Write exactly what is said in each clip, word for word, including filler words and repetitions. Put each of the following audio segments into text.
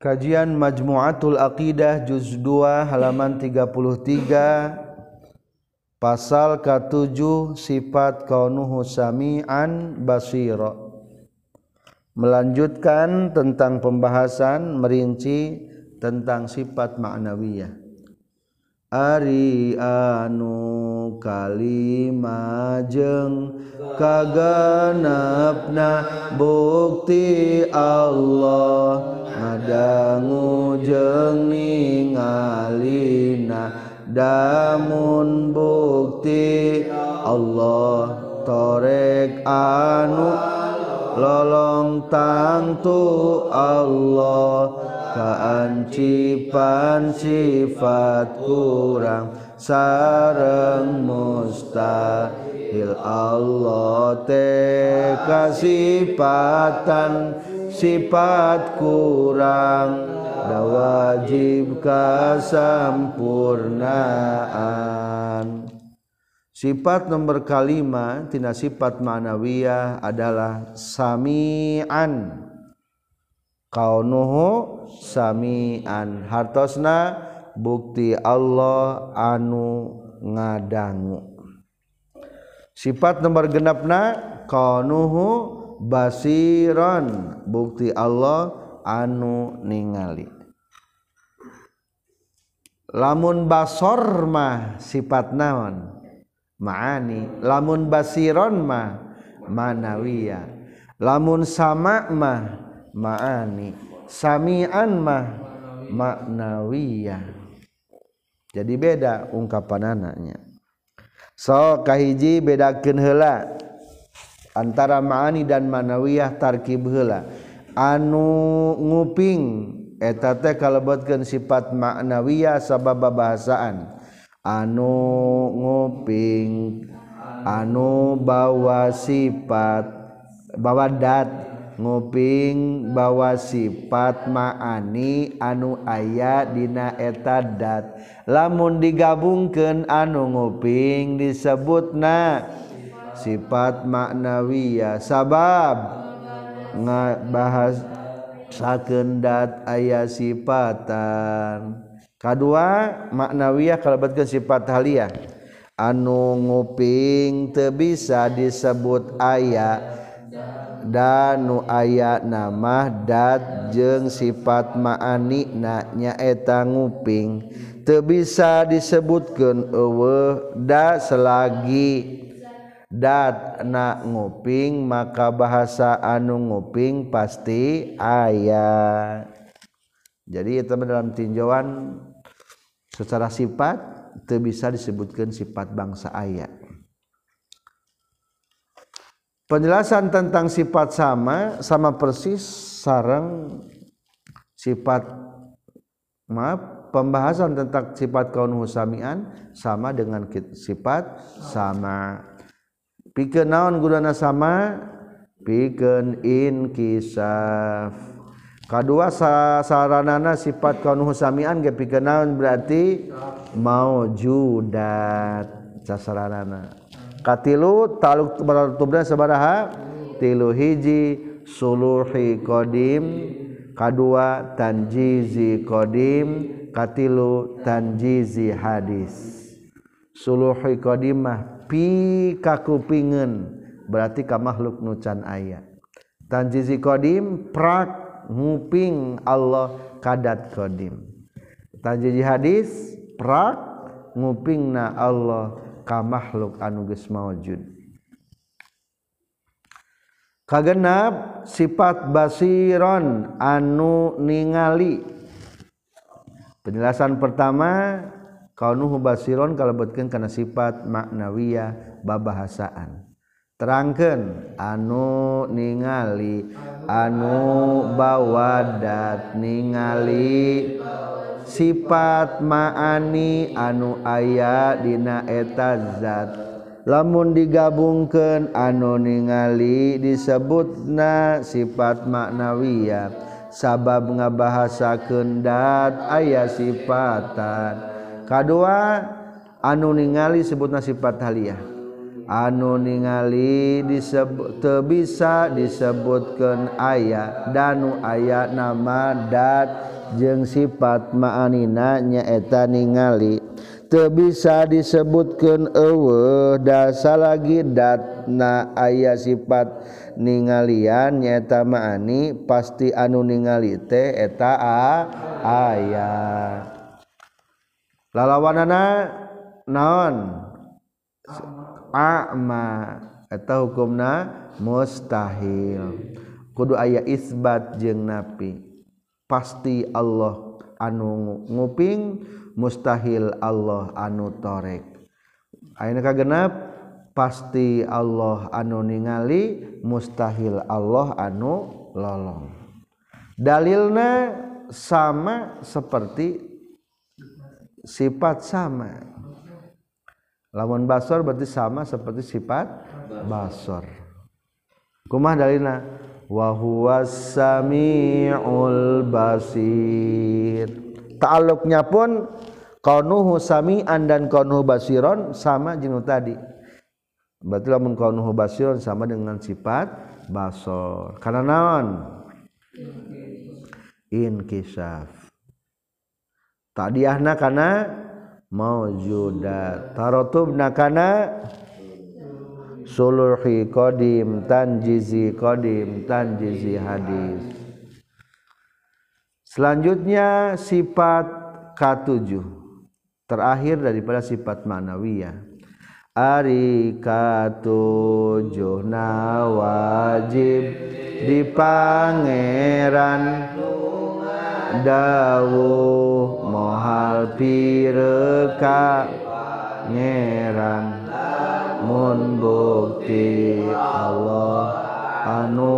Kajian Majmu'atul Aqidah juz dua halaman tiga puluh tiga pasal ketujuh sifat kaunuhu sami'an basira. Melanjutkan tentang pembahasan merinci tentang sifat ma'nawiyah. Ari anu kalimajeng kagenepna bukti Allah ngadangu jeung ningalina damun bukti Allah torek anu lolong tangtu Allah kaancipan sifat kurang sareng mustahil Allah teh kasifatan sifat kurang da wajib kasampurnaan. Sifat nomor kalima tina sifat ma'nawiyah adalah sami'an. Kaunuhu sami'an, hartosna bukti Allah anu ngadangu. Sifat nomor genepna kaunuhu basiron, bukti Allah anu ningali. Lamun basor mah sifat naon? Ma'ani. Lamun basiron mah manawiyah. Lamun sama mah ma'ani. Sami'an mah ma'nawiyah. Jadi beda ungkapanana. So kahiji bedakeun heula antara ma'ani dan ma'nawiyah tarkib heula. Anu nguping eta teh kalebetkeun sifat ma'nawiyah sabab babahasaan. Anu nguping anu bawa sifat bawa dat nguping bawa sifat ma'ani anu aya dina eta dat. Lamun digabungkeun anu nguping disebutna sifat ma'nawiyah sabab ngabahas sakeun dat aya sifatan. Kadua ma'nawiyah kalebetkeun sifat haliyah anu nguping teu bisa disebut aya dan nu aya nama dat jeung sifat ma'ani na nyaeta nguping teu bisa disebutkeun eueuh da selagi dat na nguping maka bahasa anu nguping pasti aya. Jadi itu dalam tinjauan secara sifat teu bisa disebutkan sifat bangsa aya. Penjelasan tentang sifat sama sama persis sareng sifat maaf pembahasan tentang sifat kaunuhu sami'an sama dengan sifat sama. Pikeun naon gunana sama? Pikeun inkisaf. Kadua saranana sifat kaunuhu sami'an ge pikeun naon berarti maujudat sasaranana. Katilu taluk baratubna sabaraha? Tilu hiji suluhi qadim, kadua tanjizi qadim, katilu tanjizi hadis. Suluhi qadim mah pi kakupingeun berarti ka makhluk nu can aya. Tanjizi qadim prak nguping Allah kadat qadim. Tanjizi hadis prak ngupingna Allah ka makhluk anu geus maujud. Kagenap sifat basiron anu ningali. Penjelasan pertama kaunuhu basiron kalebetkeun kana sifat ma'nawiyah babahasaan. Terangkeun anu ningali anu bawadat ningali sifat ma'ani anu aya dina eta zat. Lamun digabungkeun anu ningali disebutna sifat ma'nawiyah sabab ngabahasakeun dat aya sifatan. Kadua anu ningali sebutna sifat haliyah. anu ningali disebut teu bisa disebutkeun aya danu aya nama dat jeung sifat ma'anina nyaeta ningali teu bisa disebutkeun eueuh dasa lagi datna aya sifat ningalian nyaeta ma'ani pasti anu ningali teh eta a aya lalawanana naon a'ma eta hukumna mustahil kudu aya isbat jeung nafi pasti Allah anu nguping mustahil Allah anu torek ayeuna kagenep pasti Allah anu ningali mustahil Allah anu lolong dalilna sama seperti sifat sama lamun basor berarti sama seperti sifat basor kumaha dalilna wa huwas samiul basir ta'alluqnya pun kaunuhu sami'an dan kaunuhu basiron sama jeung tadi berarti lamun kaunuhu basiron sama dengan sifat basor karena naon inkisaf tadiahna kana maujudat tarotubna kana suluhi qadim tanjizi qadim tanjizi hadis. Selanjutnya sifat ketujuh terakhir daripada sifat ma'nawiyah ari katujuhna wajib di pangeran dawuh mohal pireka ngeran mun bukti Allah anu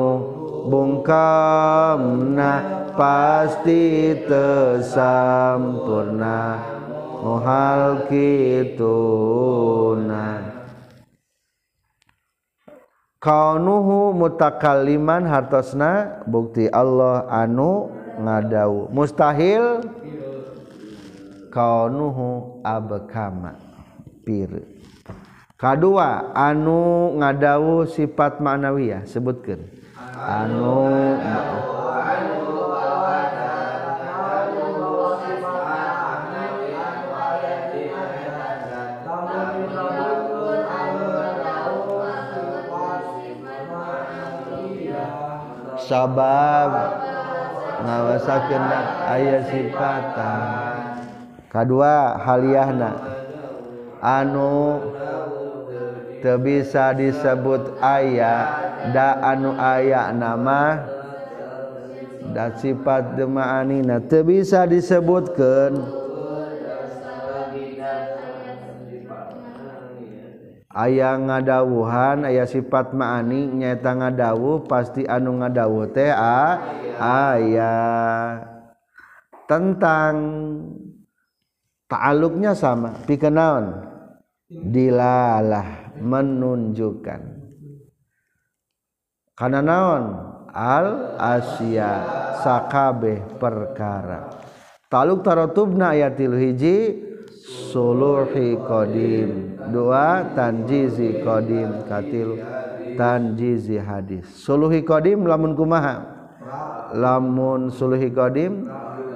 bungkamna pasti tesampurna mohal kituna kaunuhu mutakalliman hartosna bukti Allah anu ngadawu mustahil kaunuhu abkama pir kadua anu ngadawu sifat ma'nawiyah sebutkeun anu sabab ngawasakeun aya sifatan kadua haliyahna anu teu bisa disebut aya da anu aya nama da sifat ma'anina teu bisa disebutkeun aya ngadawuhan aya sifat ma'ani nyaeta ngadawuh pasti anu ngadawuh teh a aya tentang ta'alluqnya sama pikeun naon dilalah menunjukkan kana naon al asya sakabeh perkara ta'alluq taratubna ayatil hiji suluhi qadim dua tanjizi qadim katil tanjizi hadis suluhi qadim lamun kumaha lamun suluhi qadim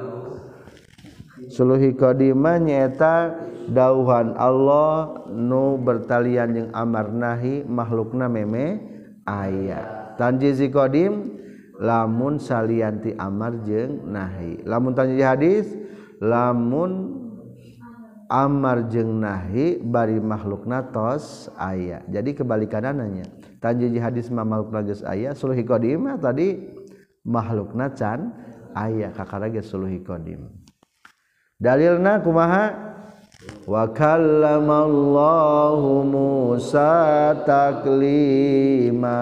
suluhi qadimah nyaeta dauhan Allah nu bertalian jeung amar nahi makhlukna meme aya tanjizi qadim lamun salianti amar jeung nahi lamun tanjizi hadis lamun amar jeung nahi bari makhlukna tos aya jadi kebalikanana tanjizi hadis mah makhlukna geus aya suluhi qadim tadi makhlukna can aya kakara ge suluhi qadim dalilna kumaha wa kallamallahu Musa taklima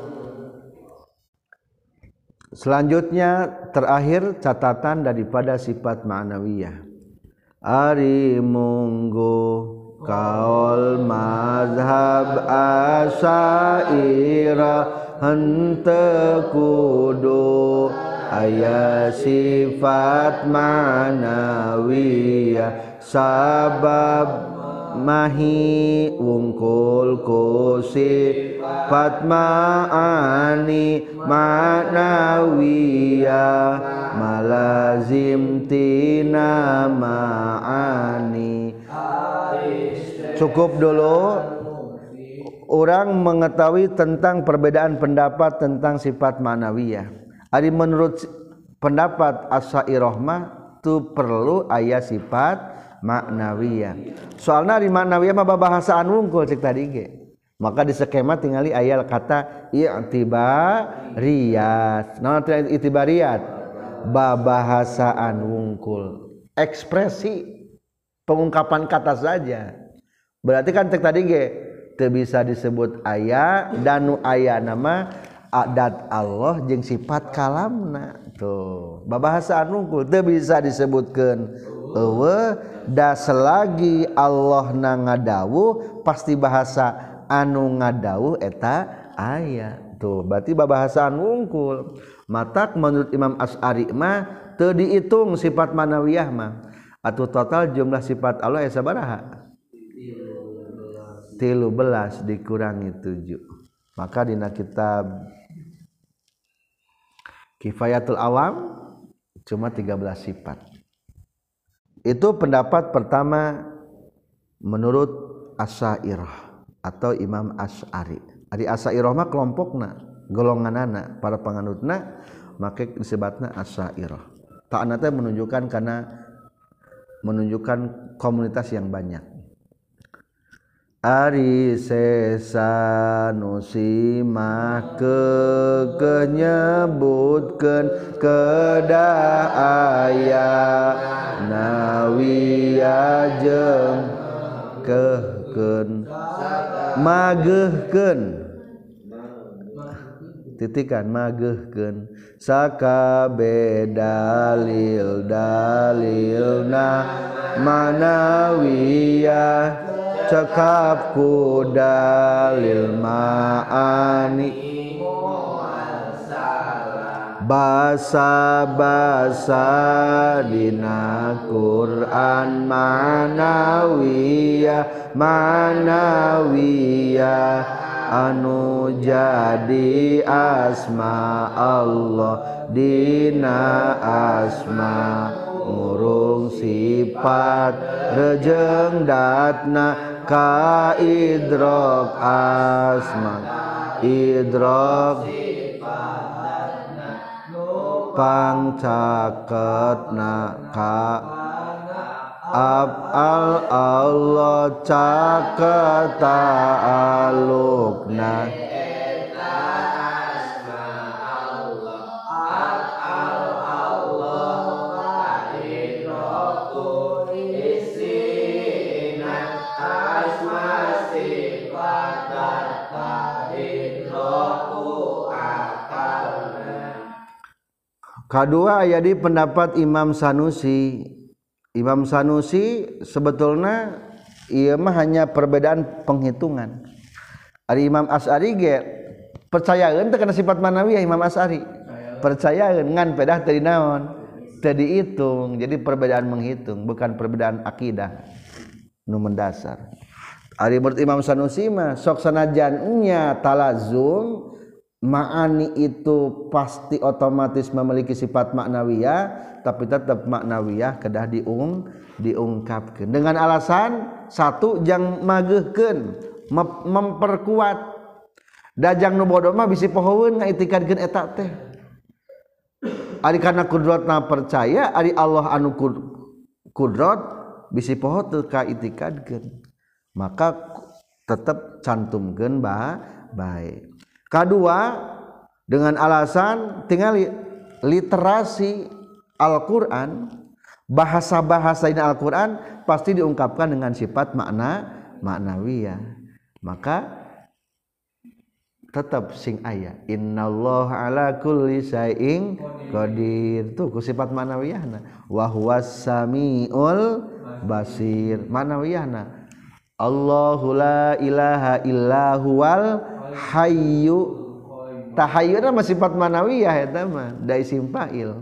selanjutnya terakhir catatan daripada sifat ma'nawiyah ari munggu kaul mazhab asaira henteu kudu aya sifat ma'nawiyah sabab mahi wungkul ku sifat ma'ani ma'nawiyah malazim tina ma'ani. Cukup dulu orang mengetahui tentang perbedaan pendapat tentang sifat ma'nawiyah. Ari menurut pendapat Asy'ariyah mah tu perlu aya sifat ma'nawiyah. Soalna di ma'nawiyah mah babahasaan wungkul cek tadi ge. Maka di skema tingali aya kata i'tibariyat. Naon i'tibariyat? Babahasaan wungkul. Ekspresi pengungkapan kata saja. Berarti kan cek tadi ge teu bisa disebut aya dan nu aya nama adat Allah jeung sifat kalamna. Tuh, babahasaan wungkul teu bisa disebutkeun eueuh da selagi Allah na ngadawuh pasti bahasa anu ngadawuh eta aya. Tuh, berarti babahasaan wungkul. Matak menurut Imam Asy'ari mah teu diitung sifat manawiyah mah. Atuh total jumlah sifat Allah aya sabaraha? tilu belas dikurangi tujuh. Maka dina kitab Kifayatul Awam cuma tiga belas sifat. Itu pendapat pertama menurut Asy'ariyah atau Imam Asy'ari. Ari Asy'ariyah mah kelompokna, golonganana, para panganutna make disebutna Asy'ariyah. Ta'ana teh menunjukkan karena menunjukkan komunitas yang banyak. Ari sesa nusimah ke kenyebutkeun kedah aya nawiyah jeung kehkeun mageuhkeun titikan mageuhkeun sakabe dalil dalilna manawiyah cekap ku dalil ma'ani basa-basa dina Quran manawiyah manawiyah anu jadi asma Allah dina asma ngurung sifat rejeng datna ka idrok asma idrok pangcaketna ka af'al Allah caketa alukna Kedua aya di pendapat Imam Sanusi. Imam Sanusi sebetulnya ieu mah hanya perbedaan penghitungan. Ari Imam Asy'ari ge percayaeun teh kana sifat manawiyah Imam Asy'ari. Percayaeun ngan pedah teu dinaon? Teu diitung. Jadi perbedaan menghitung bukan perbedaan akidah nu mendasar. Ari menurut Imam Sanusi mah sok sanajan nya talazum ma'ani itu pasti otomatis memiliki sifat maknawiyah, tapi tetap maknawiyah kedah diung diungkapkan dengan alasan satu jang mageuhkeun memperkuat dajang nu bodoh mah bisi pohoeun ngaitikadkeun eta teh ari kana kudratna percaya ari Allah anu kudrat bisi poho teu kaitikadkeun maka tetap cantumkeun ba bae. Kedua dengan alasan tinggal literasi Al-Quran, bahasa-bahasa ini Al-Quran pasti diungkapkan dengan sifat makna maknawiyah. Maka tetap sing aya innallaha ala kulli syai'in qadir tuh ku sifat maknawiyahna wa huwas samiul basir maknawiyahna Allahu la ilaha illa huwal hayyu tahayyuna mah sifat manawiyah eta mah da isim fa'il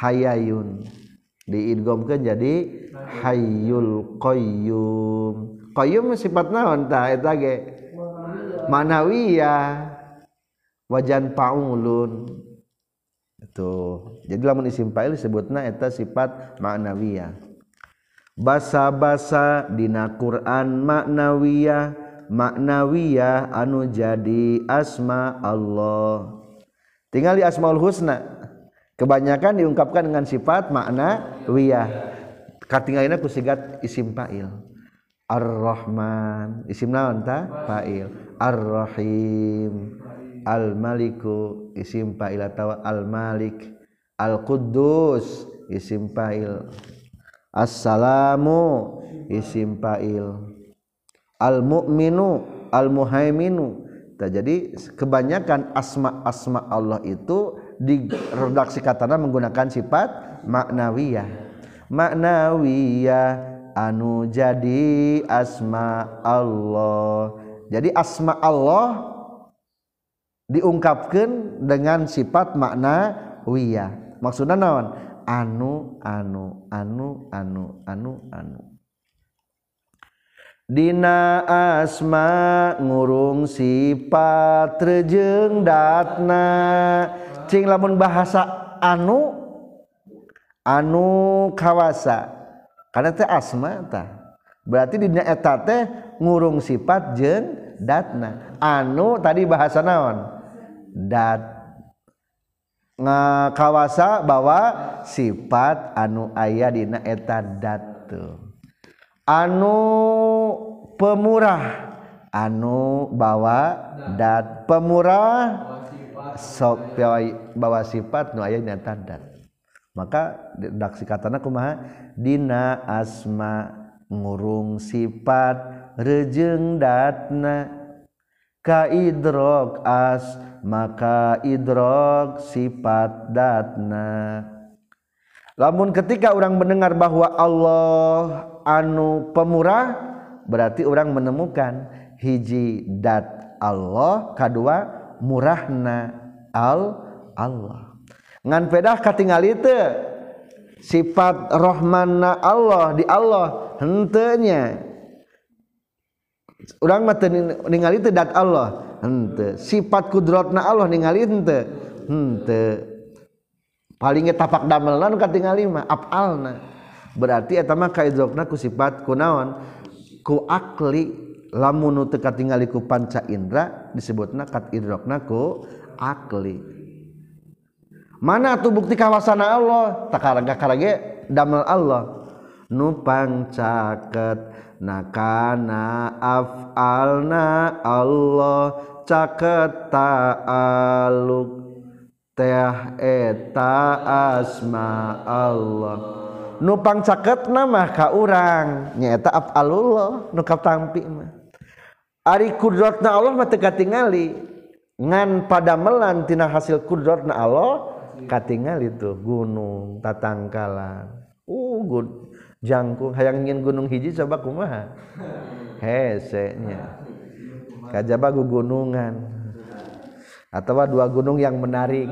hayayun diidghamkeun jadi hayyul qayyum qayyum sifat naon tah eta ge manawiyah wajan paulun itu jadi lamun isim fa'il disebutna eta sifat ma'nawiyah basa-basa dina Quran ma'nawiyah ma'nawiyah anu jadi asma Allah tinggal di asmaul husna kebanyakan diungkapkan dengan sifat ma'nawiyah katinggalina ku sigat isim fa'il Ar-Rahman isim naon tah fa'il Ar-Rahim Al-Maliku isim fa'il atawa Al-Malik Al-Quddus isim fa'il As-Salamu isim fa'il Al-Mu'minu Al-Muhaiminu. Jadi kebanyakan asma-asma Allah itu di redaksi katana menggunakan sifat ma'nawiyah. Ma'nawiyah anu jadi asma Allah. Jadi asma Allah diungkapkan dengan sifat ma'nawiyah. Maksudnya naon? Anu anu anu anu anu anu. Dina asma ngurung sifat rejeng datna cing lamun bahasa anu anu kawasa karena teh asma tah berarti dina eta teh ngurung sifat jeung datna anu tadi bahasa naon dat ngakawasa bahwa sifat anu aya dina eta dat anu pemurah anu bawa dat pemurah sok bawa sifat nu aya dina eta dat maka redaksi katana kumaha dina asma ngurung sifat rejeng datna ka idrok as maka idrok sifat datna lamun ketika orang mendengar bahwa Allah anu pemurah berarti orang menemukan hiji dat Allah kadua murahna al Allah ngan pedah katingali teu sifat rahmanna Allah di Allah henteu nya urang mah teu ningali teu dat Allah henteu sifat kudratna Allah ningali henteu henteu paling tapak damelna nu katingali mah afalna berarti eta mah kaidrokna ku sifat kunaon ku akli lamun nu teu katingali ku panca indra disebutna kat idrokna ku akli mana atuh bukti kawasana Allah takaraga-karage damel Allah nu pangcaket nakana af'alna Allah caket ta'aluk teh eta asma Allah nu pangcaketna mah ka urang nyaeta af'alullah nu katampi mah ari kudratna Allah mah teu katingali ngan padamelan tina hasil kudratna Allah katingali tuh gunung tatangkalan uh gun jangkung hayang ingin gunung hiji coba kumaha hese nya kajaba gugunungan atau dua gunung yang menarik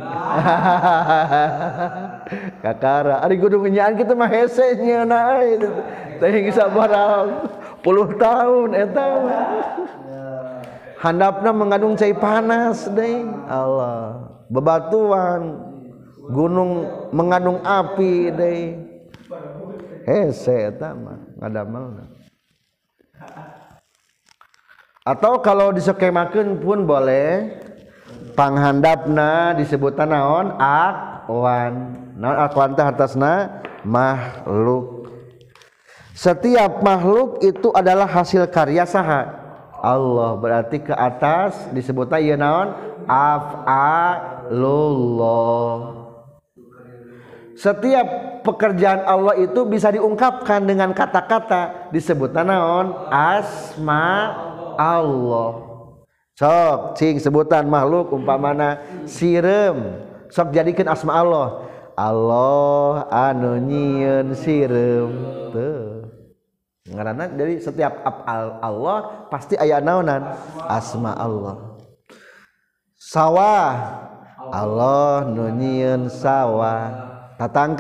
kakara ari gunung nyaan kitu mah hese nya na teh sabaraha puluh tahun eta handapna mengandung cai panas deui Allah bebatuan gunung mengandung api deui hese eta mah ngadamelna atau kalau disokemakeun pun boleh panghandapna disebutan naon aqwan naon aqwan teh hartasna makhluk setiap makhluk itu adalah hasil karya saha Allah berarti ke atas disebutna ieu naon af'alullah setiap pekerjaan Allah itu bisa diungkapkan dengan kata-kata disebutna naon asma Allah sok cing sebutan makhluk umpamana sireum sok jadikeun asma Allah Allah anu nyieun sireum teu ngaranna dari setiap af'al Allah pasti aya naonan asma Allah sawah Allah nu nyieun sawah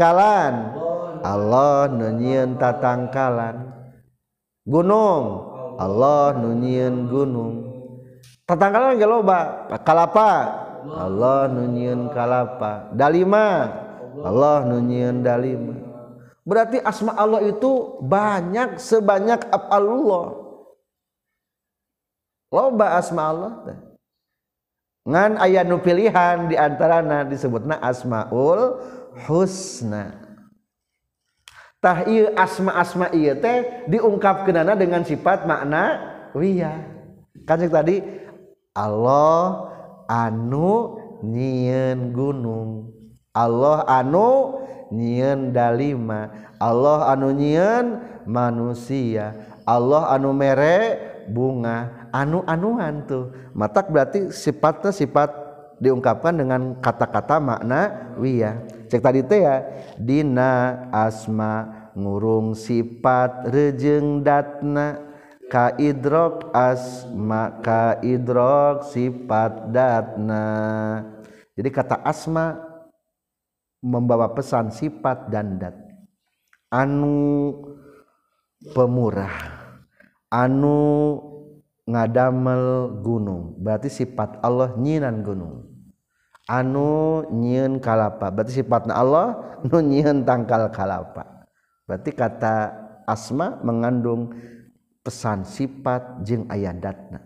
tatangkalan Allah nu nyieun tatangkalan gunung Allah nu nyieun gunung. Tatangkalan ge loba. Kalapa Allah nu nyieun kalapa. Dalima Allah nu nyieun dalima. Berarti asma Allah itu banyak sebanyak af'alullah. Loba asma Allah teh. Ngan aya nu pilihan di antarana disebutna asmaul husna. Tah ieu asma-asma ieu teh diungkapkeunana dengan sifat makna wiyah. Kan tadi Allah anu nyieun gunung, Allah anu nyieun dalima, Allah anu nyieun manusia, Allah anu mere bunga, anu-anuan tuh. Matak berarti sifatnya sifat diungkapkan dengan kata-kata makna wiyah. Cek tadi teh ya dina asma ngurung sifat rejeng datna ka idrok asma ka idrok sifat datna. Jadi kata asma membawa pesan sifat dan dat. Anu pemurah, anu ngadamel gunung, berarti sifat Allah nyieun gunung. Anu nyieun kalapa, berarti sifatna Allah nu nyieun tangkal kalapa. Berarti kata asma mengandung pesan sifat jeung aya datna.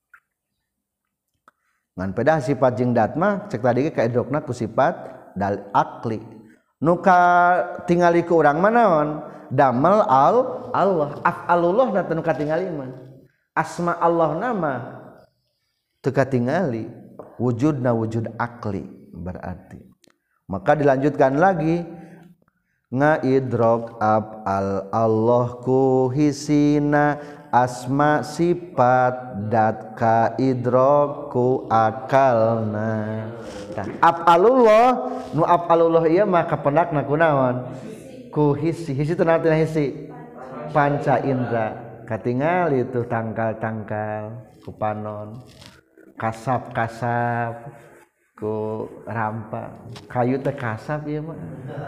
Ngan pedah sifat jeung dat mah cek tadi ge kaidrokna ku sifat dal akli. Nu ka tingali ku urang mah naon? Damel al Allah, af'alullah na teu katingali mah. Asma Allah nama teu katingali, wujudna wujud akli berarti. Maka dilanjutkan lagi ngaidrok af'al Allah ku hisina asma sifat dat ka idrok ku akalna. Nah, af'alullah nu af'alullah ieu mah kapendakna kunaon? Ku hisi, hisi teh naon hisi? Panca indra. Katingali itu tangkal-tangkal ku panon, kasap-kasap ku rampa, kayu teh kasap ieu mah.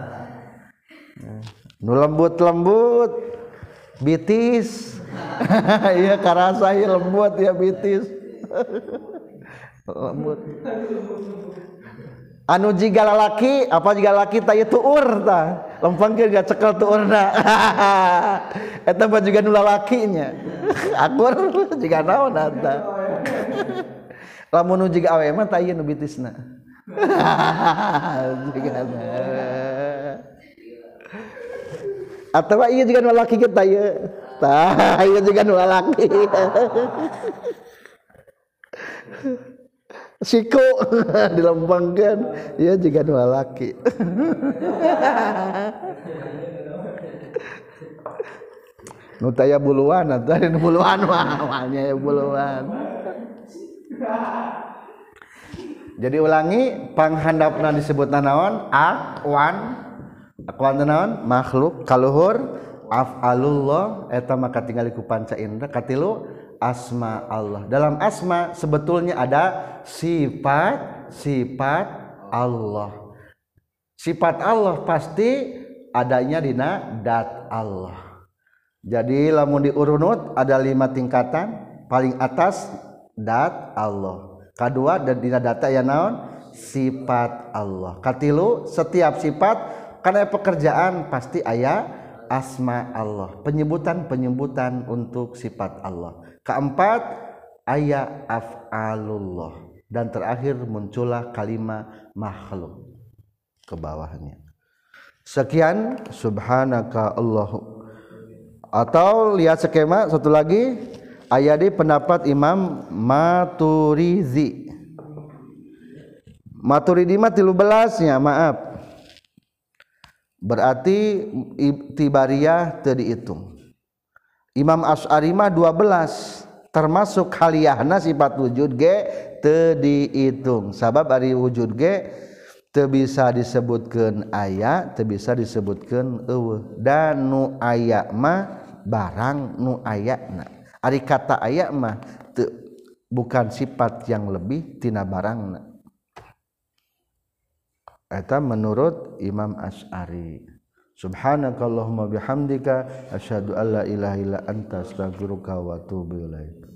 Nu lembut-lembut bitis. Iya karasa ieu lembut ya bitis. Lembut. Anu jiga lalaki, apa jiga lalaki tah ieu tuur tah. Lempengkeun gak cekel tuurna. Eta mah juga nu lalakinya. Akur jiga naon eta. Lamun nu jiga awe mah tah ieu nu bitisna. Jigana. Atawa ieu jiga nu lalaki kita ieu. Tah ieu jiga nu lalaki. Siku dilempengkeun ieu jiga nu lalaki. Nu taya buluan atuh nu buluan mah nya buluan. Jadi ulangi panghandapna disebutna naon? Aqwan. Aqwan naon? Makhluk kaluhur af'alullah eta mah katingali ku panca indra. Katilu asma Allah. Dalam asma sebetulnya ada sifat sifat Allah. Sifat Allah pasti adanya dina dat Allah. Jadi lamun diurunut ada lima tingkatan. Paling atas dat Allah. Kedua dan dina data ya naon? Sifat Allah. Katilu setiap sifat karena pekerjaan pasti aya asma Allah. Penyebutan-penyebutan untuk sifat Allah. Keempat aya af'alullah. Dan terakhir muncullah kalimat makhluk ke bawahnya. Sekian subhanaka Allahu. Atau lihat skema satu lagi aya di pendapat Imam Maturizi. Maturidi mah tilu belasnya maaf. Berarti tibariyah teu dihitung. Imam Asy'ari mah dua belas termasuk haliyahna sifat wujud ge teu dihitung. Sabab ari wujud ge teu bisa disebutkeun aya, teu bisa disebutkeun eueuh. Dan nu aya mah barang nu ayana. Ari kata aya mah teu bukan sifat yang lebih tina barangna. Eta menurut Imam Asy'ari. Subhanakallahumma bihamdika asyhadu alla ilaha illa anta astaghfiruka wa atubu ilaik.